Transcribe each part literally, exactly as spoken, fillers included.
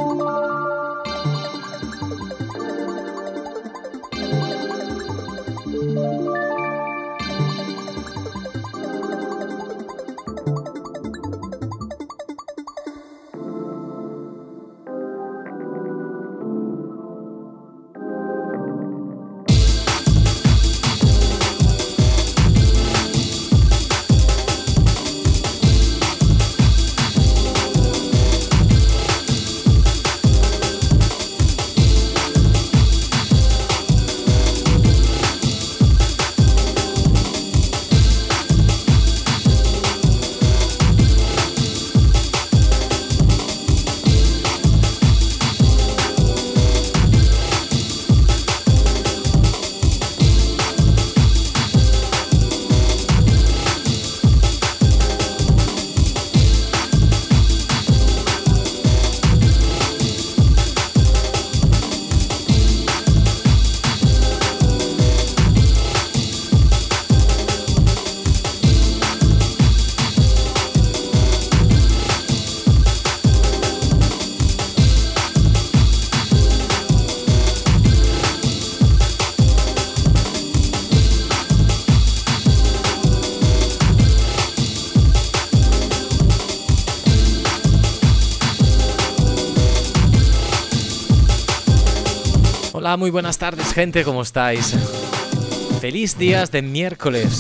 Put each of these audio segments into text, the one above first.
Hola, muy buenas tardes, gente, ¿cómo estáis? Feliz días de miércoles.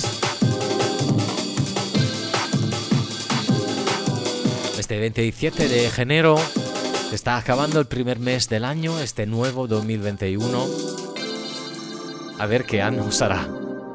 Este veintisiete de enero está acabando el primer mes del año, este nuevo dos mil veintiuno. A ver qué año será.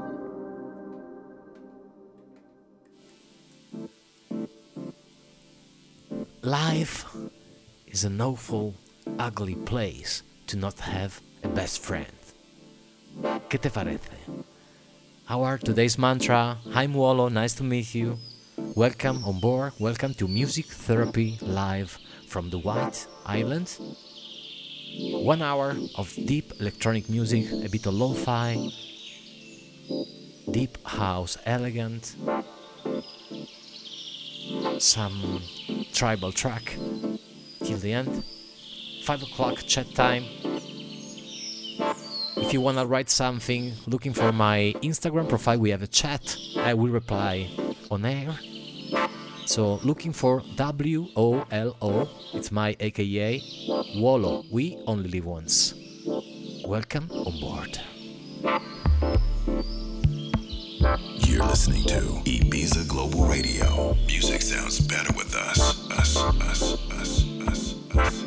Life is an awful, ugly place to not have a best friend. ¿Qué te parece? Our today's mantra. I'm Wolo, nice to meet you. Welcome on board, welcome to Music Therapy Live from the White Island. One hour of deep electronic music, a bit of lo-fi, deep house, elegant, some tribal track till the end. Five o'clock chat time. If you wanna write something, looking for my Instagram profile, we have a chat. I will reply on air. So looking for W O L O, it's my A K A, Wolo, we only live once. Welcome on board. You're listening to Ibiza Global Radio. Music sounds better with us. Us, us, us, us, us, us, us.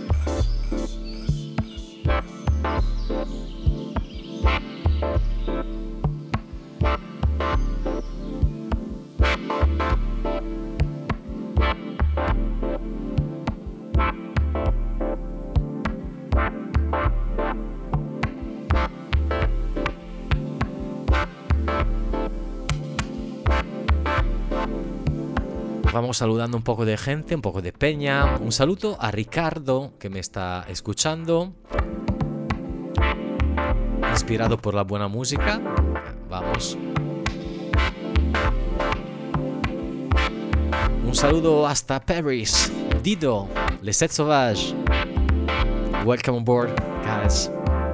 Vamos saludando un poco de gente, un poco de peña. Un saludo a Ricardo, que me está escuchando. Inspirado por la buena música. Vamos. Un saludo hasta Paris. Dido, Les Sept Sauvages. Welcome on board, guys.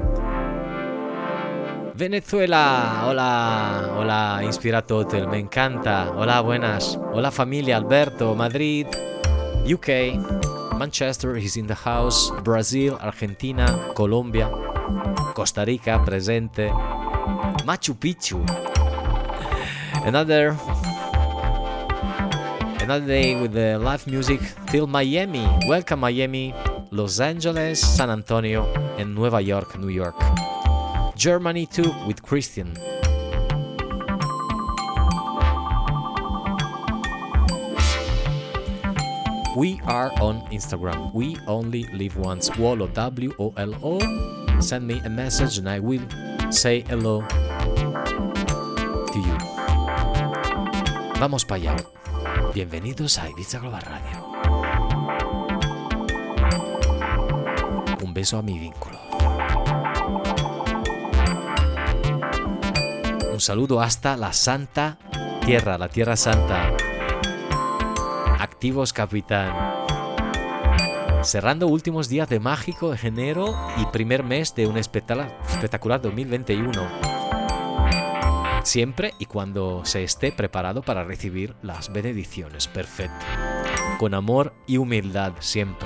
Venezuela, hola, hola, Inspirato Hotel, me encanta. Hola, buenas. Hola, familia, Alberto, Madrid, U K, Manchester is in the house, Brazil, Argentina, Colombia, Costa Rica, presente, Machu Picchu. Another, another day with the live music till Miami. Welcome, Miami, Los Angeles, San Antonio, and Nueva York, New York. Germany too, with Christian. We are on Instagram. We only live once. Wolo, W O L O. Send me a message and I will say hello to you. Vamos para allá. Bienvenidos a Ibiza Global Radio. Un beso a mi vínculo. Un saludo hasta la Santa Tierra, la Tierra Santa. Activos, capitán. cerrando últimos días de mágico enero y primer mes de un espectacular dos mil veintiuno. Siempre y cuando se esté preparado para recibir las bendiciones. Perfecto. Con amor y humildad siempre.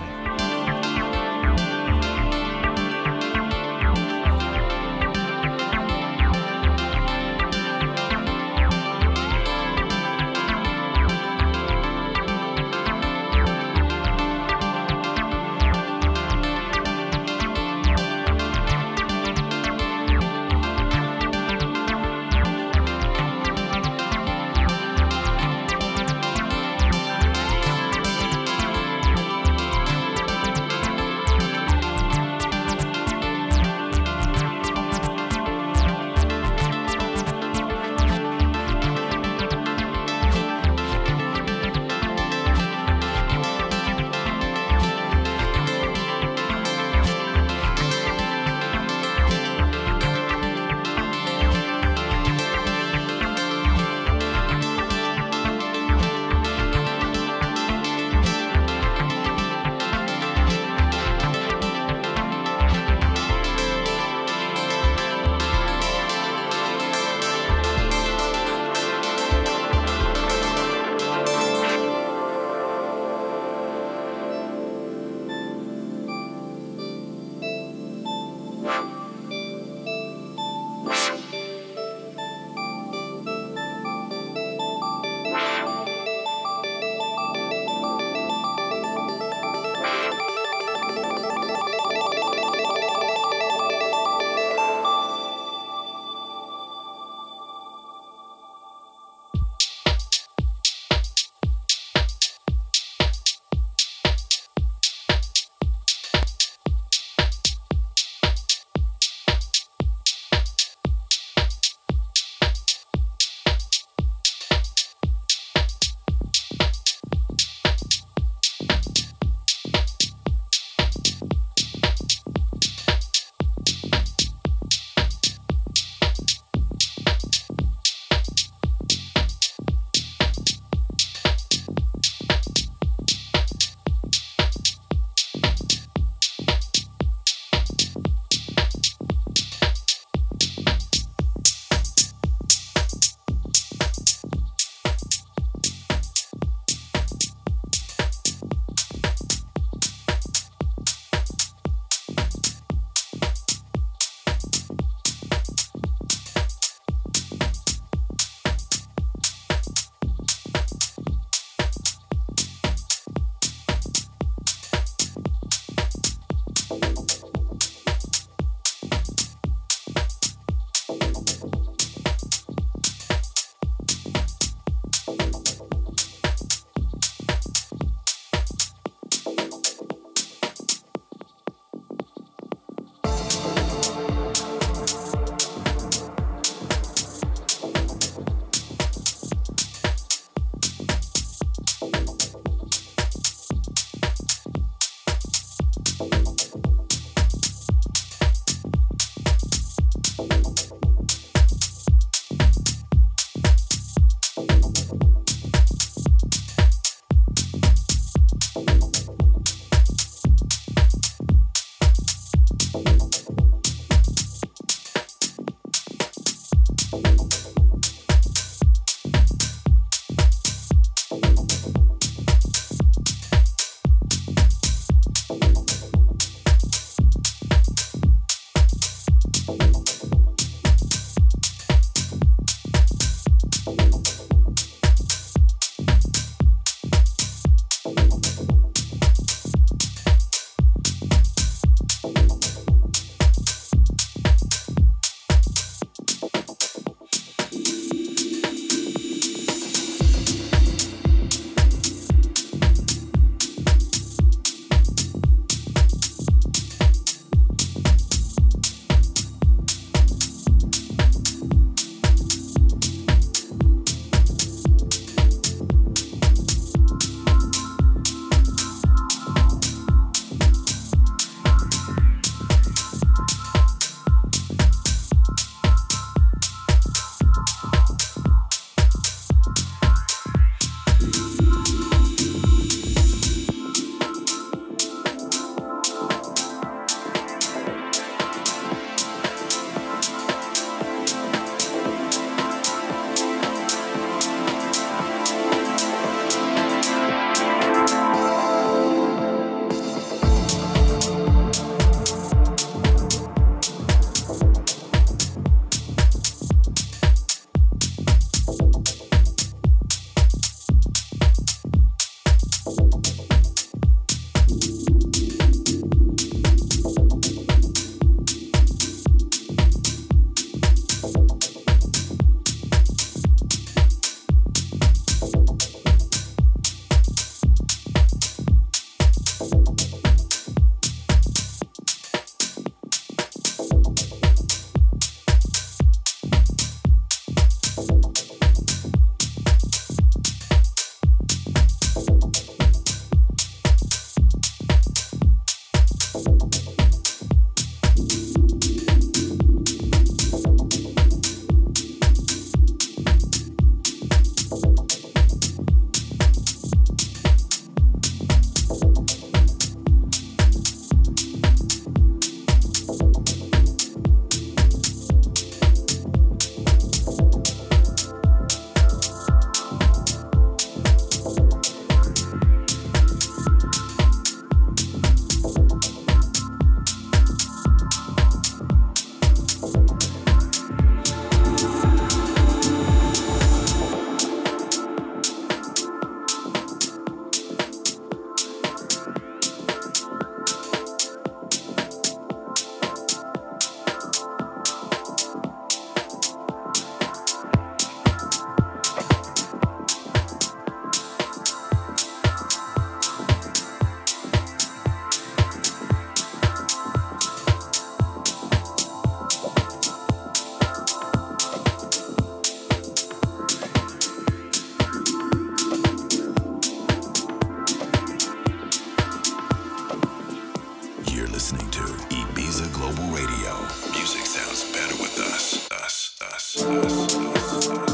Ibiza Global Radio. Music sounds better with us. Us, us, us, us, us.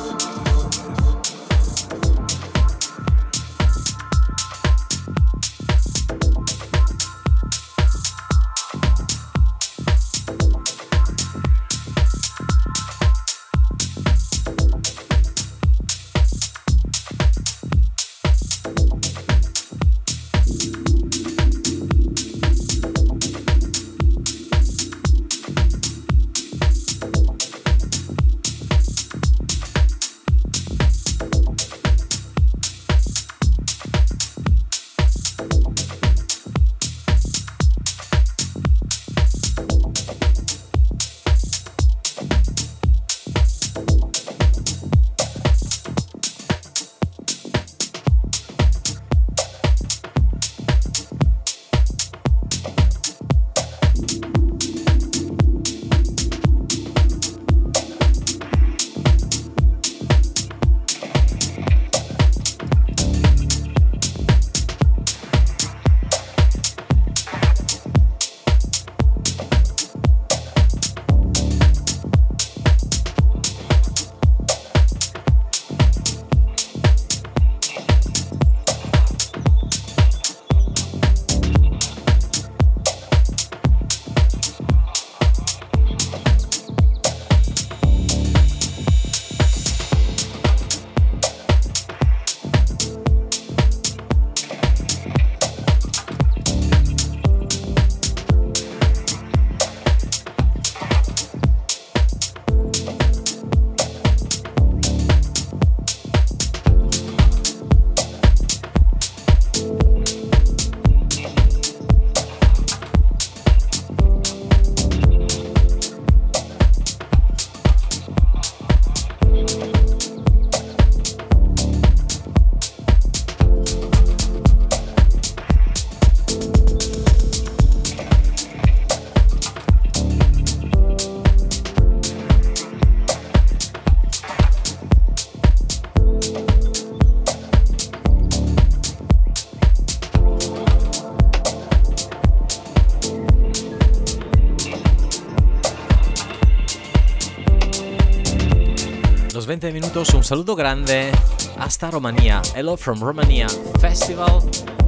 veinte minutos, un saludo grande hasta Romania. Hello from Romania Festival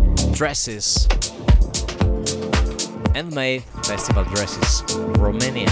Dresses. Handmade Festival Dresses, Romania.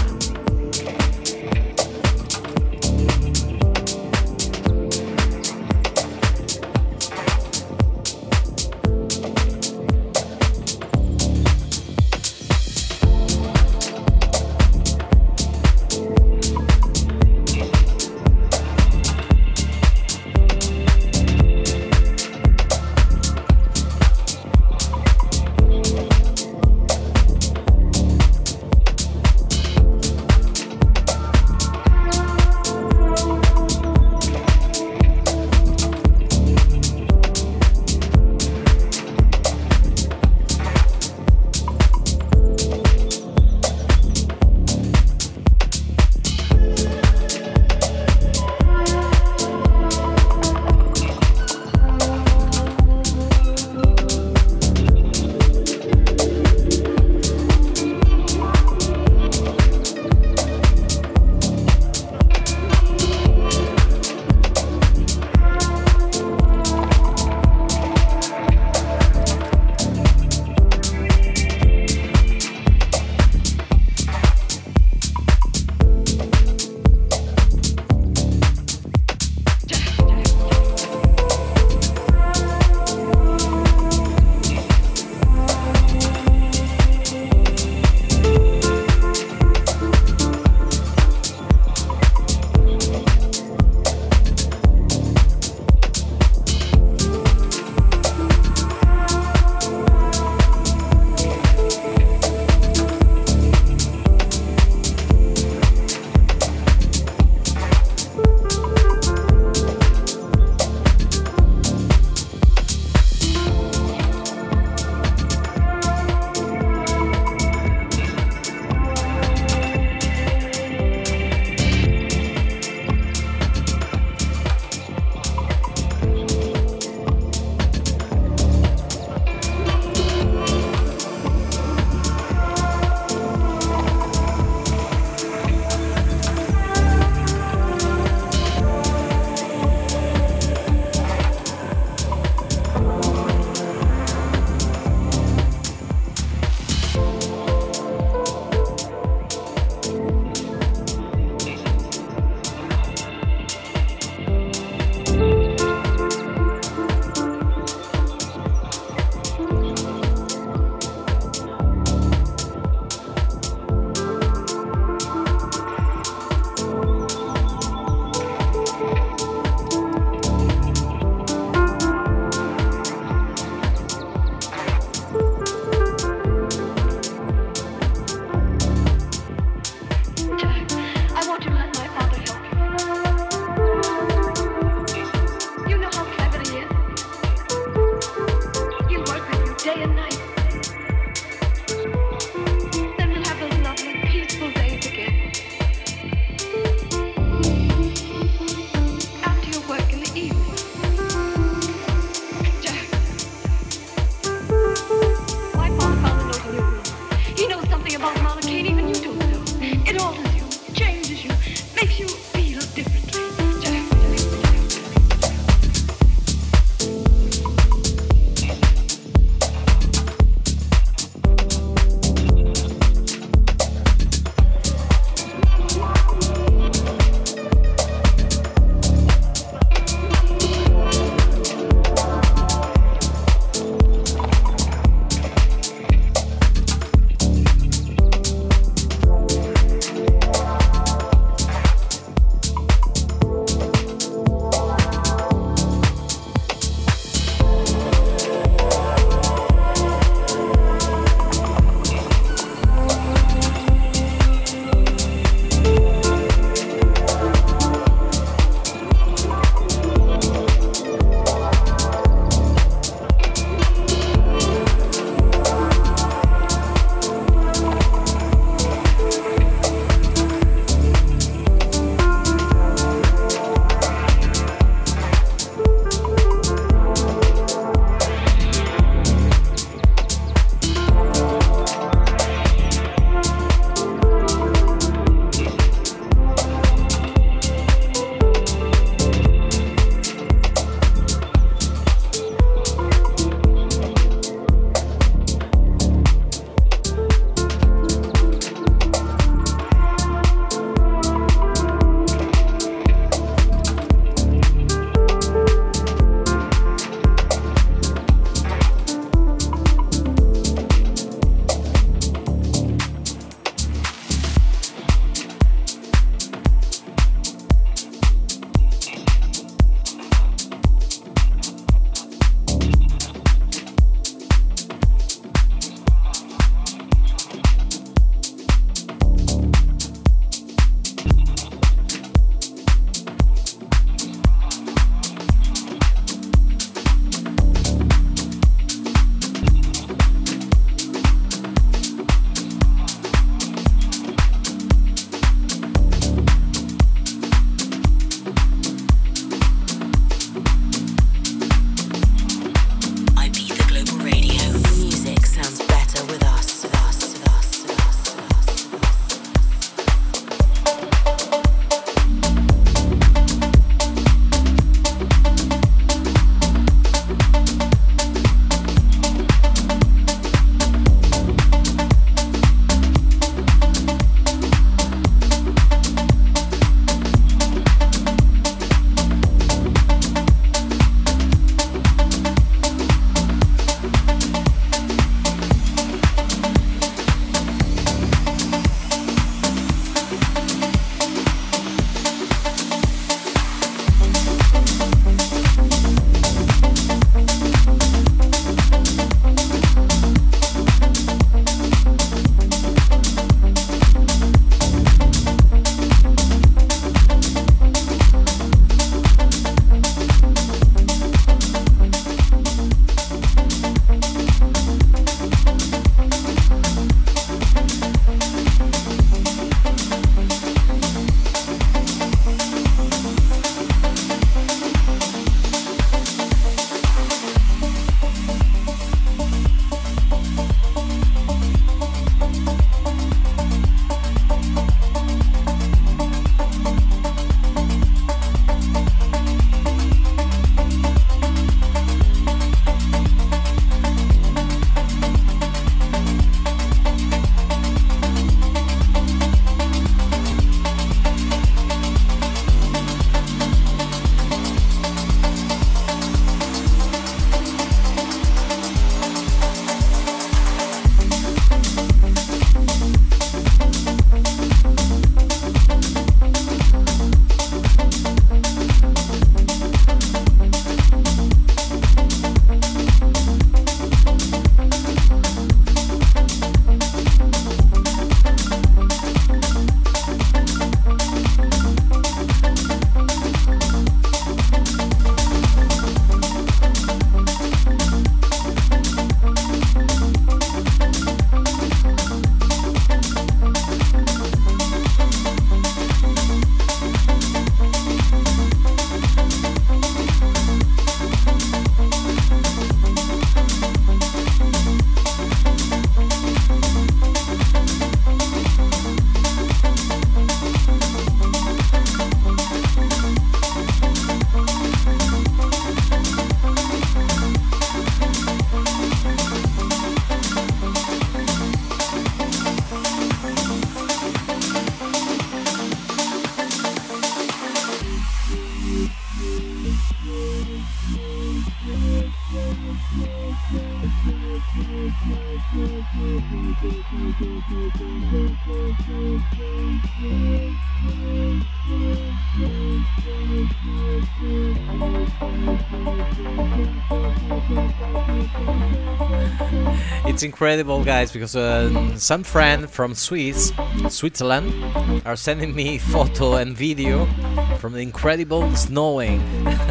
It's incredible, guys, because uh, some friend from Swiss, Switzerland are sending me photo and video from the incredible snowing.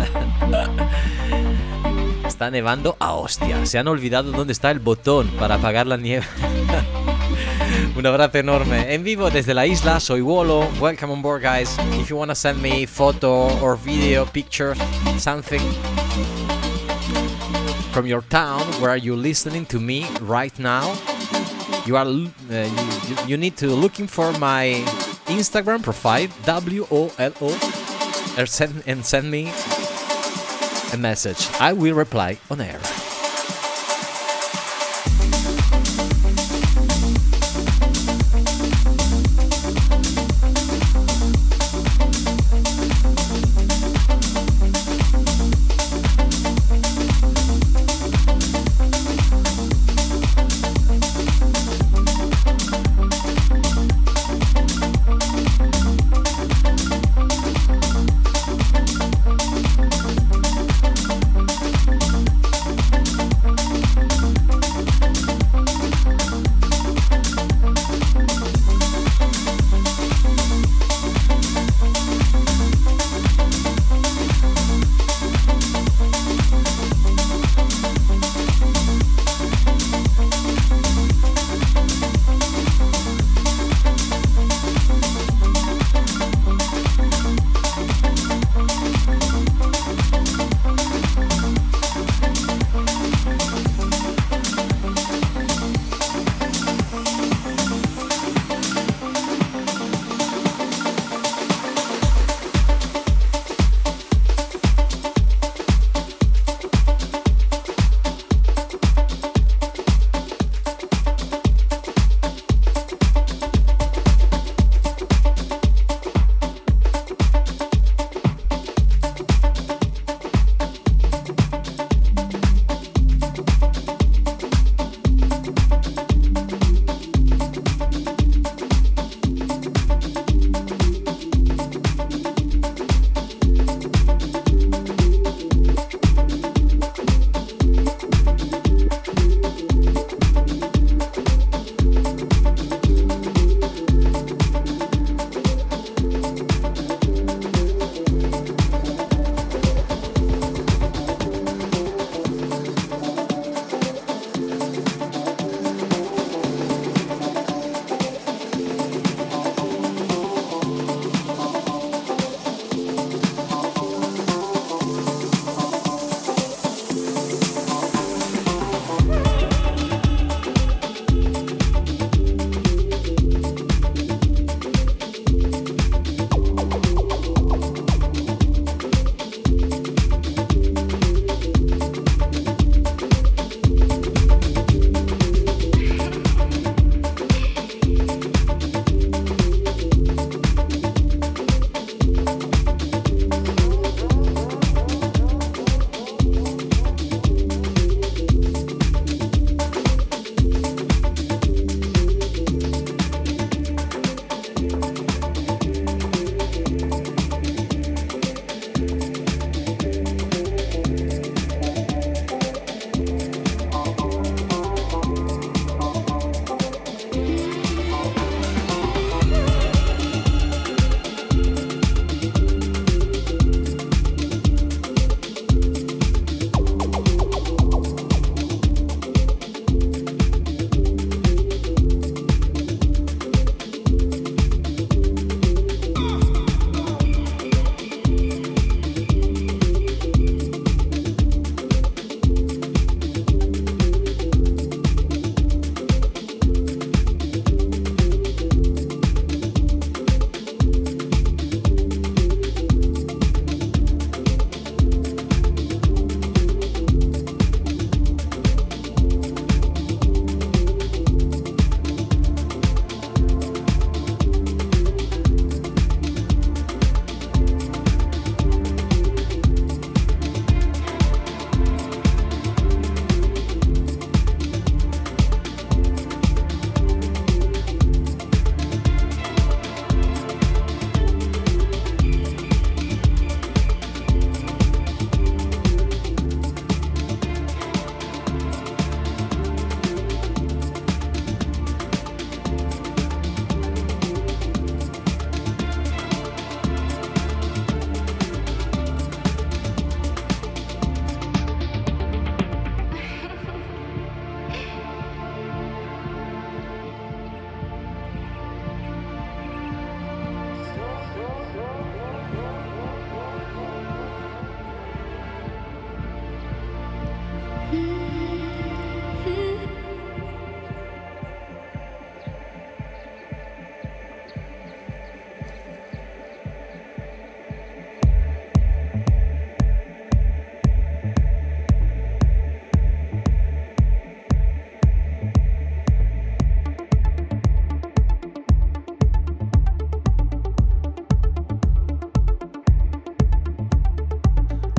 Está nevando a hostia. Se han olvidado dónde está el botón para apagar la nieve. Un abrazo enorme. En vivo desde la isla, soy Wolo. Welcome on board, guys. If you wanna send me photo or video, pictures, something from your town where you listening to me right now, you are uh, you, you need to looking for my Instagram profile, W O L O, and send, and send me a message. I will reply on air.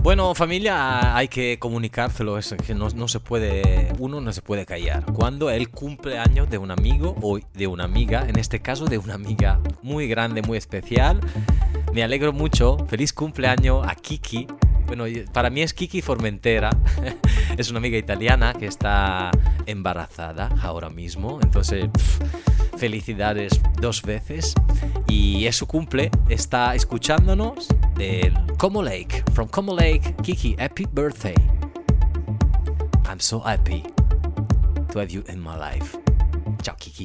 Bueno, familia, hay que comunicárselo, es que no, no se puede, uno no se puede callar. Cuando el cumpleaños de un amigo o de una amiga, en este caso de una amiga muy grande, muy especial, me alegro mucho. Feliz cumpleaños a Kiki. Bueno, para mí es Kiki Formentera. Es una amiga italiana que está embarazada ahora mismo. Entonces, pff, felicidades dos veces. Y es su cumple. Está escuchándonos del Como Lake. From Como Lake, Kiki, happy birthday. I'm so happy to have you in my life. Ciao, Kiki.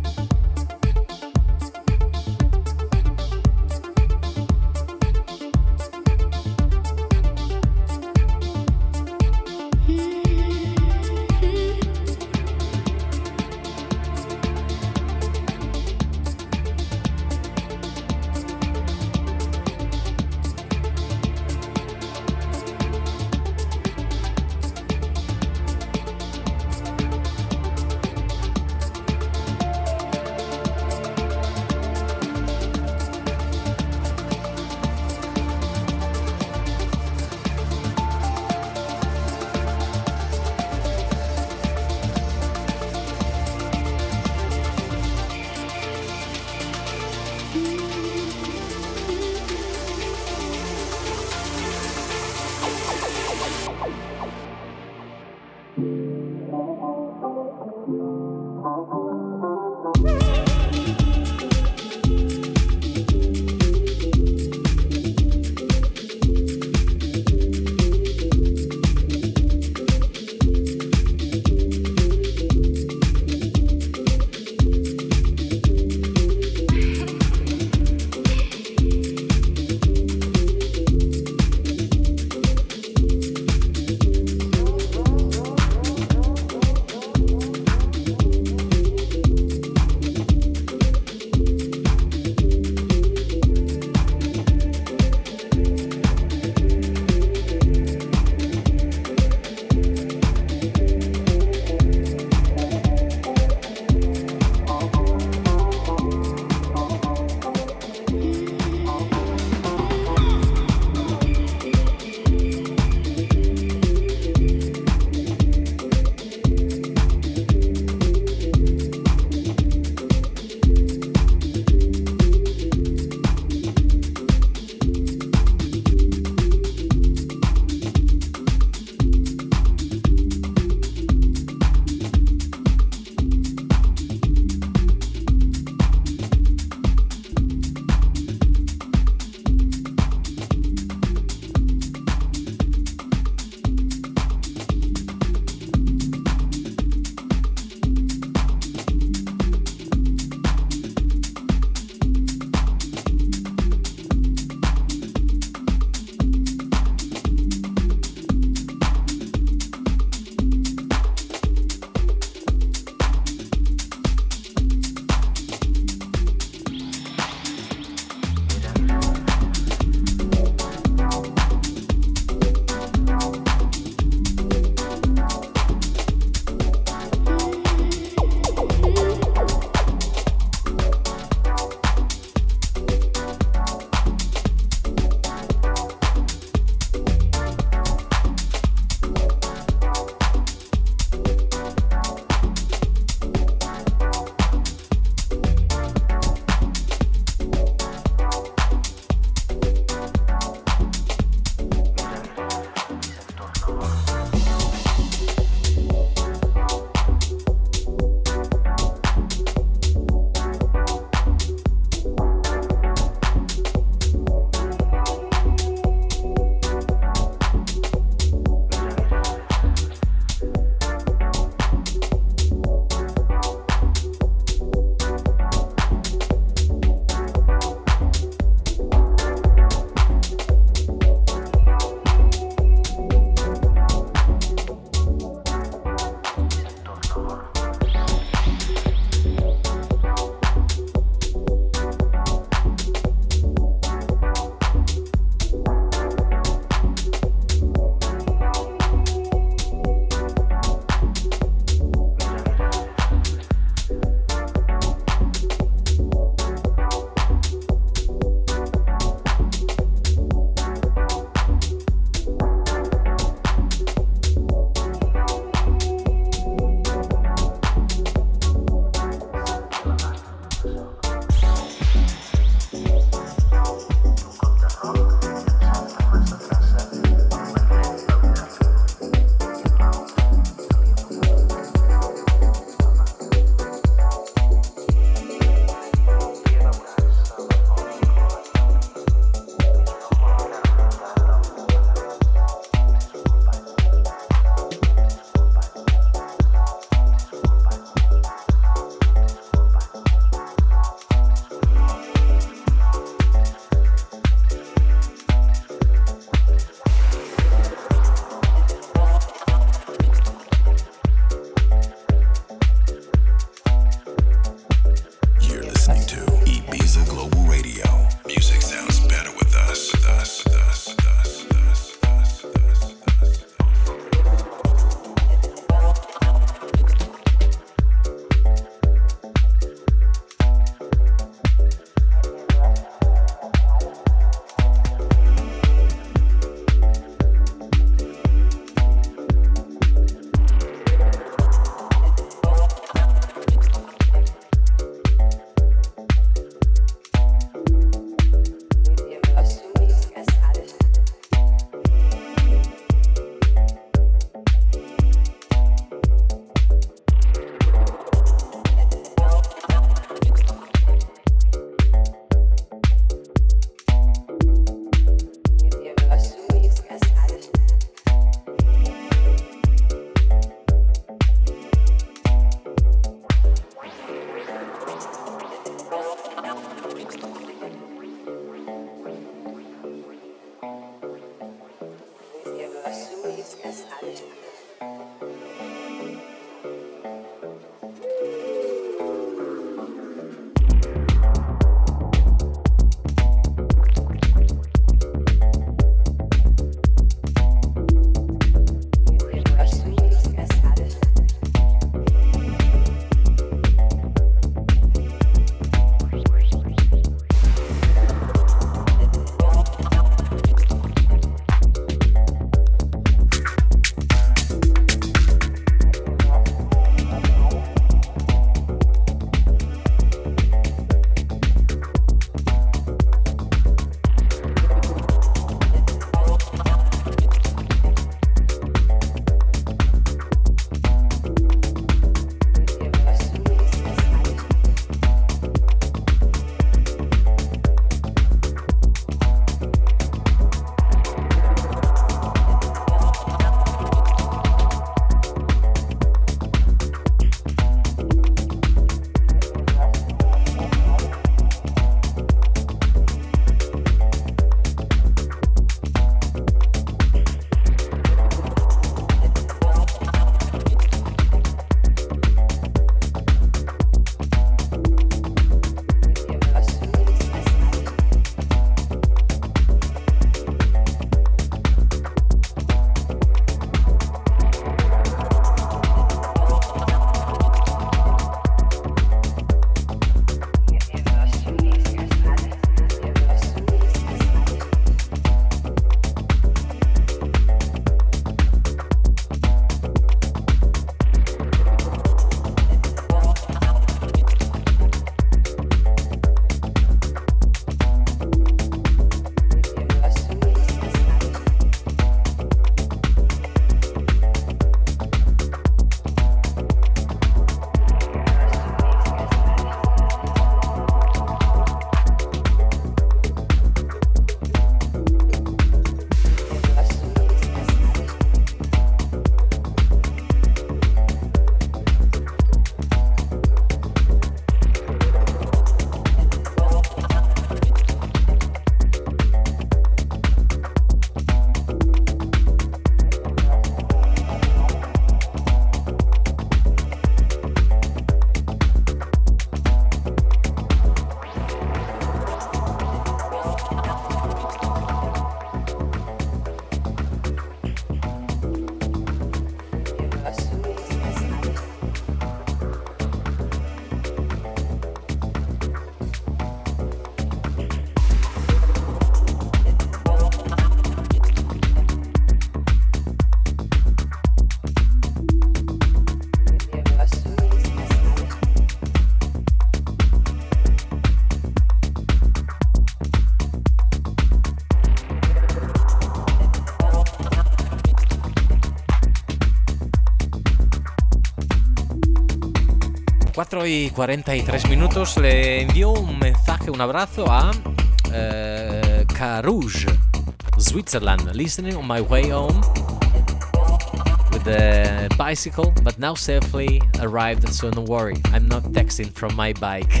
y cuarenta y tres minutos. Le envío un mensaje, un abrazo a uh, Carouge, Switzerland, listening on my way home with the bicycle, but now safely arrived, so don't worry, I'm not texting from my bike.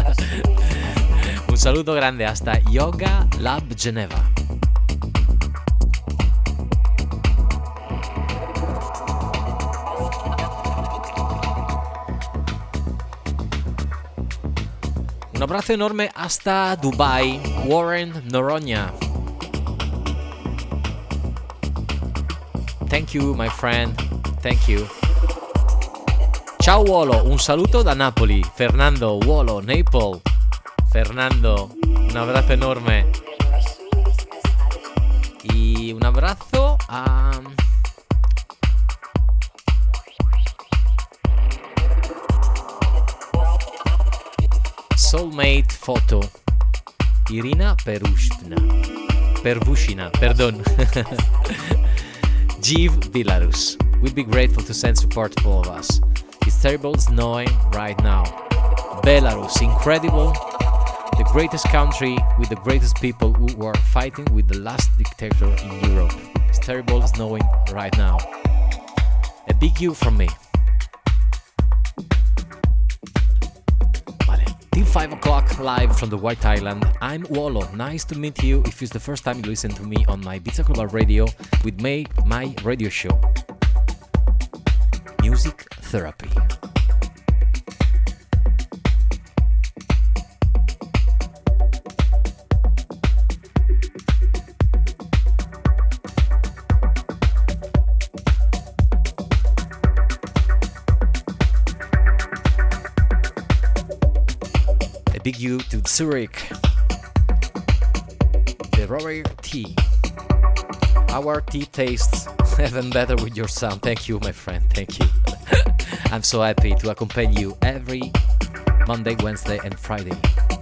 Un saluto grande hasta Yoga Lab Geneva. Un abrazo enorme hasta Dubai, Warren Noronha. Thank you, my friend. Thank you. Ciao Wolo, un saluto da Napoli. Fernando, Wolo, Naples. Fernando, un abrazo enorme. Y un abrazo a... Soulmate Photo, Irina Perushina, Pervushina, perdon. Jiv Belarus. We'd be grateful to send support to all of us. It's terrible snowing right now. Belarus, incredible. The greatest country with the greatest people who were fighting with the last dictator in Europe. It's terrible snowing right now. A big you from me. Till five o'clock live from the White Island. I'm Wolo. Nice to meet you if it's the first time you listen to me on my Ibiza Global Radio with my, my radio show. Music Therapy. Big you to Zurich, the Robert Tea. Our tea tastes even better with your sound. Thank you, my friend. Thank you. I'm so happy to accompany you every Monday, Wednesday, and Friday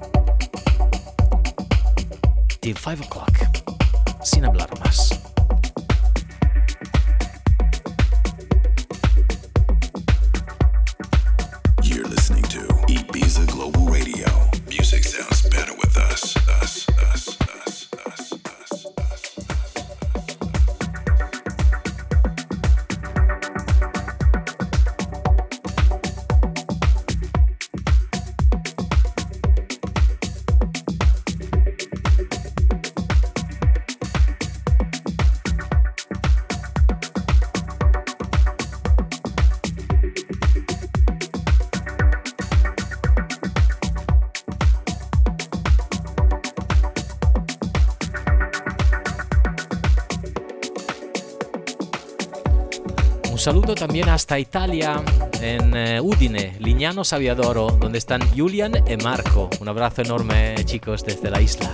till five o'clock. Sin hablar más. You're listening to Ibiza Global Radio. Music sounds better with us, us, us, us, us, us, us. Un saludo también hasta Italia, en eh, Udine, Lignano Saviadoro, donde están Julian y Marco. Un abrazo enorme, chicos, desde la isla.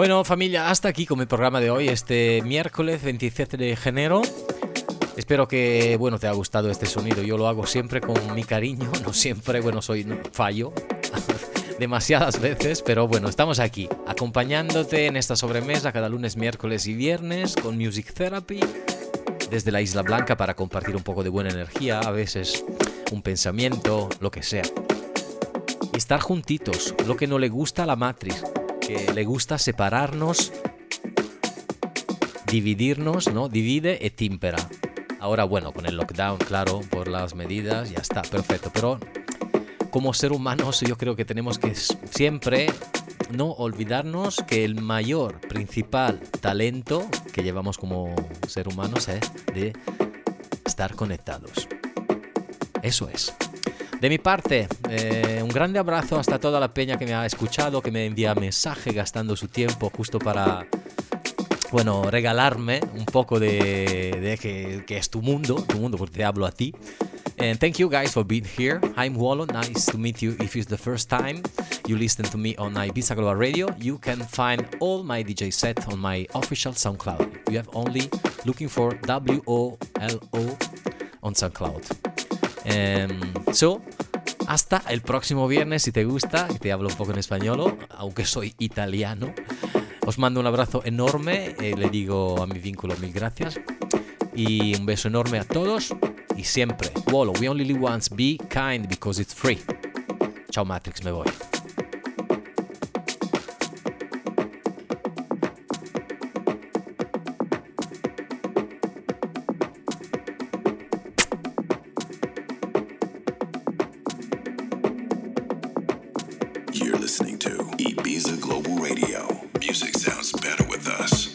Bueno, familia, hasta aquí con el programa de hoy, este miércoles veintisiete de enero. Espero que, bueno, te ha gustado este sonido. Yo lo hago siempre con mi cariño, no siempre, bueno, soy no, fallo demasiadas veces, pero bueno, estamos aquí, acompañándote en esta sobremesa cada lunes, miércoles y viernes con Music Therapy desde la Isla Blanca para compartir un poco de buena energía, a veces un pensamiento, lo que sea. Y estar juntitos, lo que no le gusta a la Matrix, que le gusta separarnos, dividirnos, ¿no? Divide e timpera. Ahora, bueno, con el lockdown, claro, por las medidas, ya está, perfecto. Pero como ser humanos yo creo que tenemos que siempre no olvidarnos que el mayor, principal talento que llevamos como ser humanos es de estar conectados. Eso es. De mi parte, eh, un grande abrazo hasta toda la peña que me ha escuchado, que me envía mensaje gastando su tiempo justo para, bueno, regalarme un poco de, de que, que es tu mundo, tu mundo, porque te hablo a ti. And thank you guys for being here. I'm Wolo, nice to meet you. If it's the first time you listen to me on Ibiza Global Radio, you can find all my D J set on my official SoundCloud. You have only looking for W O L O on SoundCloud. Um, so, hasta el próximo viernes, si te gusta, que te hablo un poco en español, aunque soy italiano. Os mando un abrazo enorme, eh, le digo a mi vínculo mil gracias. Y un beso enorme a todos. Y siempre, Wolo, we only live once, be kind because it's free. Ciao Matrix, me voy. You're listening to Ibiza Global Radio. Music sounds better with us.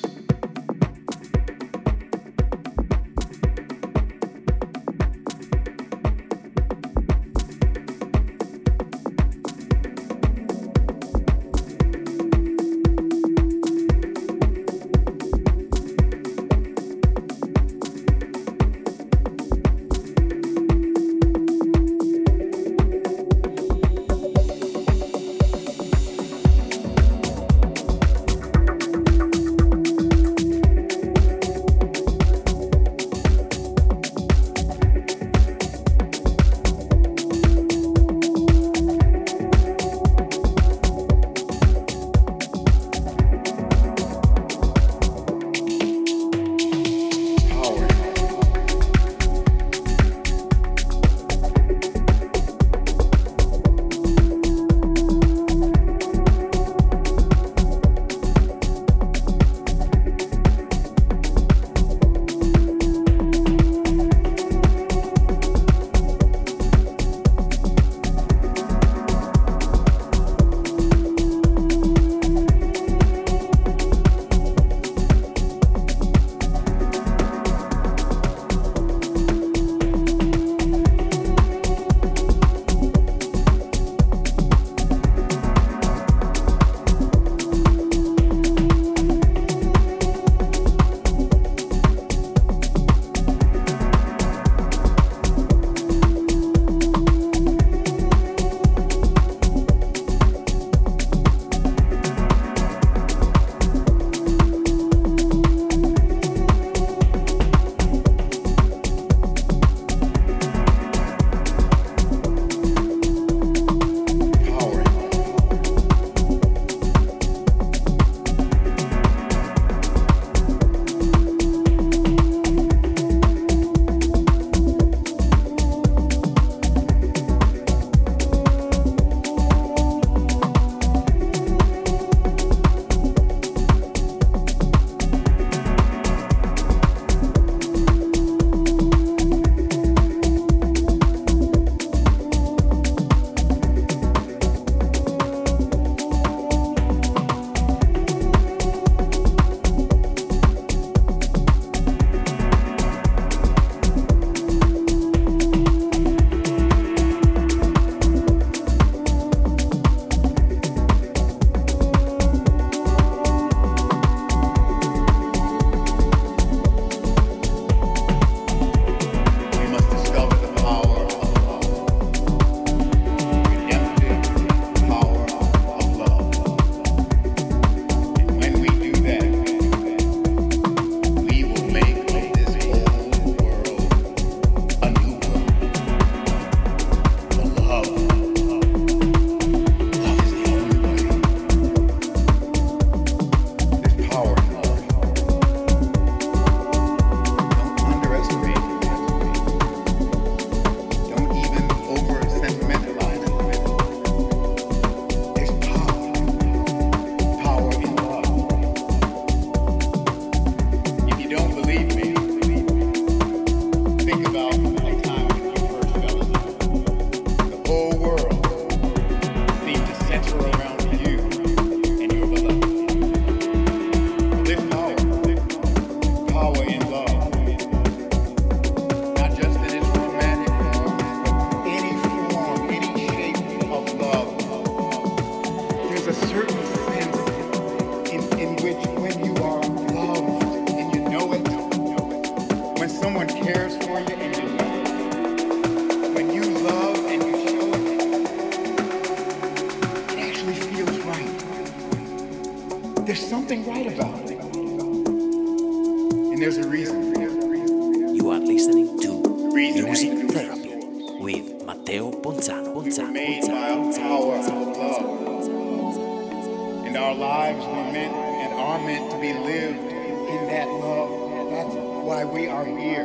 something right about it. And there's a reason. You are listening to Music Therapy with Matteo Ponzano. Ponzano, Made Ponzano, by a power of love. And our lives were meant and are meant to be lived in that love. That's why we are here.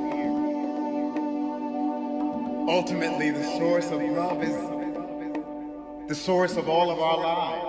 Ultimately, the source of love is the source of all of our lives.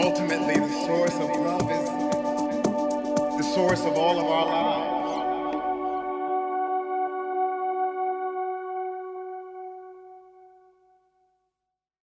ultimately the source of love is the source of all of our lives.